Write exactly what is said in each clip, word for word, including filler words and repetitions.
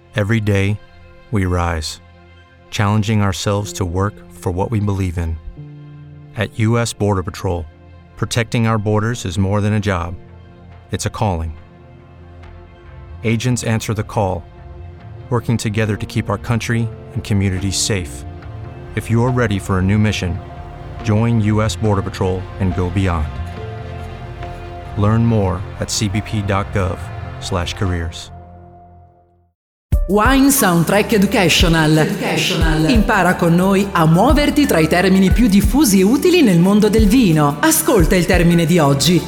Every day, we rise, challenging ourselves to work for what we believe in. At U S Border Patrol, protecting our borders is more than a job. It's a calling. Agents answer the call, working together to keep our country and communities safe. If you're ready for a new mission, join U S Border Patrol and go beyond. Learn more at c b p dot gov slash careers. Wine Soundtrack Educational. Educational. Impara con noi a muoverti tra i termini più diffusi e utili nel mondo del vino. Ascolta il termine di oggi.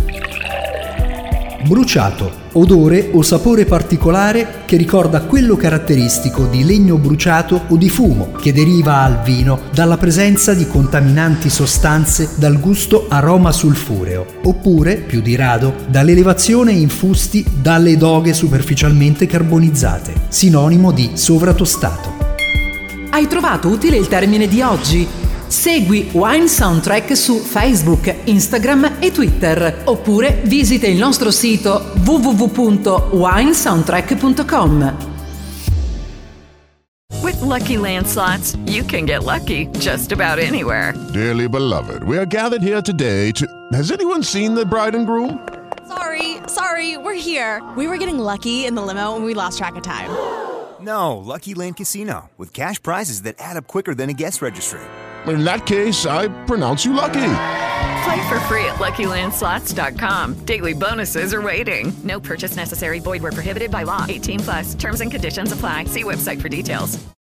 Bruciato, odore o sapore particolare che ricorda quello caratteristico di legno bruciato o di fumo che deriva al vino dalla presenza di contaminanti sostanze dal gusto aroma sulfureo, oppure, più di rado, dall'elevazione in fusti dalle doghe superficialmente carbonizzate, sinonimo di sovratostato. Hai trovato utile il termine di oggi? Segui Wine Soundtrack su Facebook, Instagram e Twitter, oppure visita il nostro sito w w w punto wine soundtrack punto com. With Lucky Land Slots, you can get lucky just about anywhere. Dearly beloved, we are gathered here today to... Has anyone seen the bride and groom? Sorry, sorry, we're here. We were getting lucky in the limo and we lost track of time. No, Lucky Land Casino, with cash prizes that add up quicker than a guest registry. In that case, I pronounce you lucky. Play for free at lucky land slots dot com. Daily bonuses are waiting. No purchase necessary. Void where prohibited by law. eighteen plus. Terms and conditions apply. See website for details.